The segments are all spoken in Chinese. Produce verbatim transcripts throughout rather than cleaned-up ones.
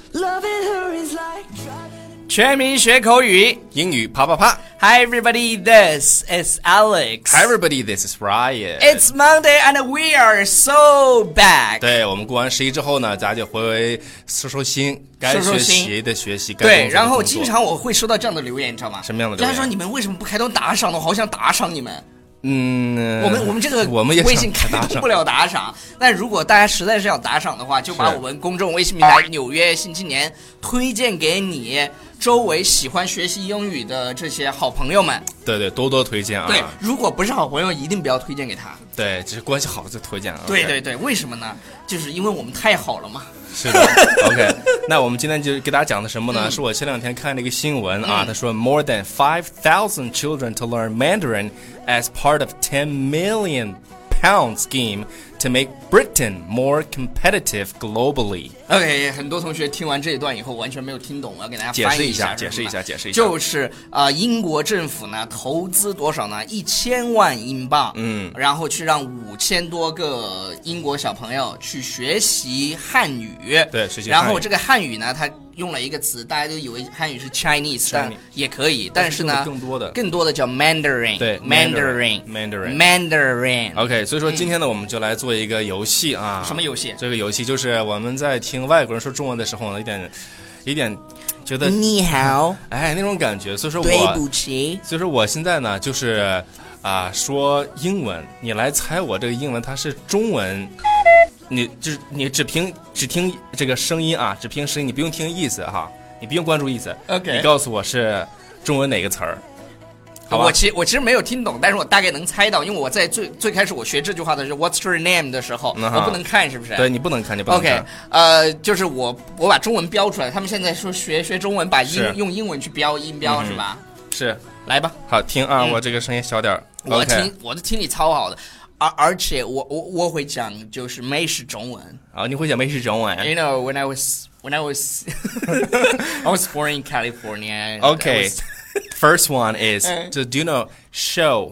全民学口语， 英语啪啪啪。 Hi everybody, this is Alex. Hi everybody, this is Ryan. It's Monday and we are so back. 对，我们过完十一之后呢，大家就回收收心，该学习的学习，该工作的工作。 对，然后经常我会收到这样的留言，你知道吗？ 什么样的留言？ 他说你们为什么不开通打赏呢？我好想打赏你们。 嗯， 我们我们这个我们也微信开通不了打赏，但如果大家实在是要打赏的话，就把我们公众微信平台《纽约新青年》推荐给你周围喜欢学习英语的这些好朋友们。 对对，多多推荐啊！ 对，如果不是好朋友，一定不要推荐给他。 对，只是关系好就推荐啊。 对对对，为什么呢？就是因为我们太好了嘛。 是的 ，OK。那我们今天就给大家讲的什么呢？嗯、是我前两天看了一个新闻啊，他、嗯、说 more than five thousand children to learn Mandarin as part of ten million pound scheme to make Britain more competitive globally. OK， 很多同学听完这一段以后完全没有听懂，我要给大家解释一下，解释一下，解释一下， 就是呃，英国政府呢投资多少呢？一千万英镑， 嗯， 然后去让五千多个英国小朋友去学习汉语， 对，学习汉语。 然后这个汉语呢，它用了一个词，大家都以为汉语是 Chinese， 但也可以，但是呢， 更多的更多的叫 Mandarin， 对 ，Mandarin，Mandarin，Mandarin。 OK， 所以说今天呢，我们就来做一个游戏啊。 什么游戏？ 这个游戏就是我们在听外国人说中文的时候呢，一点，一点觉得你好， 哎，那种感觉。所以说我， 对不起。 所以说我现在呢，就是啊，说英文，你来猜我这个英文它是中文。你就是你只凭只听这个声音啊，只凭声音，你不用听意思哈，你不用关注意思。 OK， 你告诉我是中文哪个词儿？好吧， 我其我其实没有听懂，但是我大概能猜到，因为我在最最开始我学这句话的是 What's your name 的时候， 嗯、 我不能看，是不是？ 对，你不能看，你不能看。 OK， 呃，就是我我把中文标出来，他们现在说学学中文，把英用英文去标音标、嗯、是吧？ 是， 来吧。 好听啊、嗯，我这个声音小点儿。 我听、 okay、 我的听力超好的。而而且我我我会讲就是美式中文啊、哦，你会讲美式中文 ？You know when I was when I was I was born in California. Okay, first one is so do you know show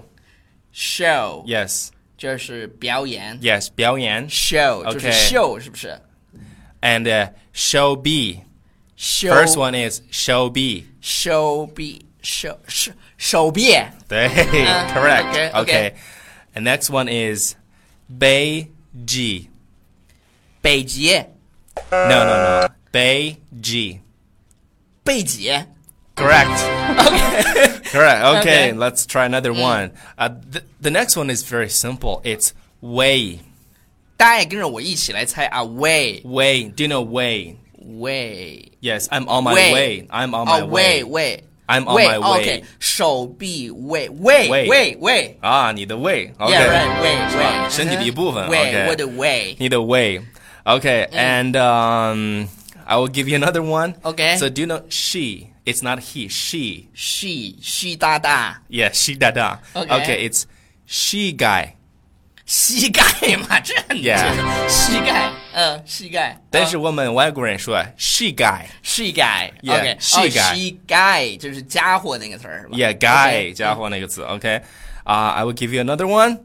show yes 就是表演 yes 表演 show 就是 show 是不是 ？And、uh, show B show first one is show B show B show 手手臂对、uh, correct okay, okay. okay.The next one is 北极北极 No, no, no. 北极北极 Correct. Okay. Correct. Okay, okay. Let's try another mm. one. Uh, the, the next one is very simple. It's way. 大家也跟着我一起来猜啊 way. Way. Do you know way? Way. Yes, I'm on my way. way. I'm on my oh, way. Way, way. I'm on my way. Okay. 手臂 way, way, way, way, way. 啊，你的 way. Okay. Yeah, right, way, way. 身体的一部分。 way, okay. 我的 way. 你的 way. Okay, mm. and um, I will give you another one. Okay. So do you know she? It's not he, she. She, she 大大。 Yeah, she 大大。 Okay. Okay, it's she guy. 膝盖嘛，这很简单。Yeah. 膝盖，嗯，膝盖。 但是我们外国人说 she guy。 she guy。 Yeah, OK， she guy。 she guy 就是家伙那个词儿是吧 ？Yeah, guy 家伙那个词。OK， 啊、uh, ，I will give you another one.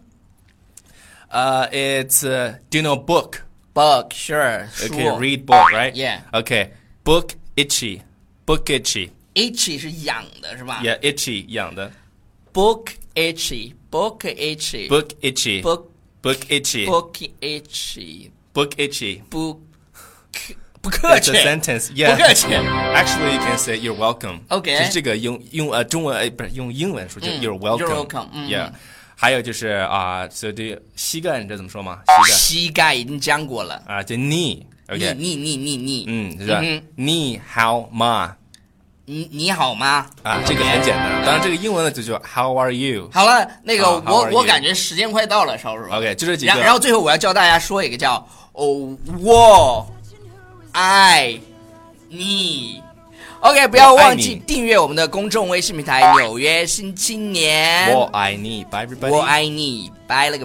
Uh, it's uh, do you know book? Book, sure. Okay, read book, right? Yeah. Okay, book itchy, book itchy. Itchy 是痒的是吧 ？Yeah, itchy 痒的。 Book itchy, book itchy, book itchy, book book itchy, book itchy, book itchy, book. 不客气。 It's a sentence. Yeah. 不客气。 Actually, you can say you're welcome. Okay. 就是这个用用呃中文呃不是用英文说就 you're welcome. You're welcome. Yeah. 还有就是啊，所以膝盖你知道怎么说吗？ 膝盖。膝盖已经讲过了。 啊，就 knee. OK. knee knee knee knee. 嗯，是吧？你好吗？ 你你好吗？ 啊，这个很简单。当然，这个英文呢就叫 How are you？ 好了，那个我我感觉时间快到了，稍叔。 OK， 就这几个。 然后最后我要教大家说一个叫哦我爱你。OK， 不要忘记订阅我们的公众微信平台《纽约新青年》。 我爱你 ，Bye everybody。 我爱你，拜了个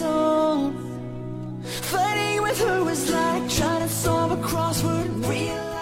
拜。Fighting with her was like trying to solve a crossword.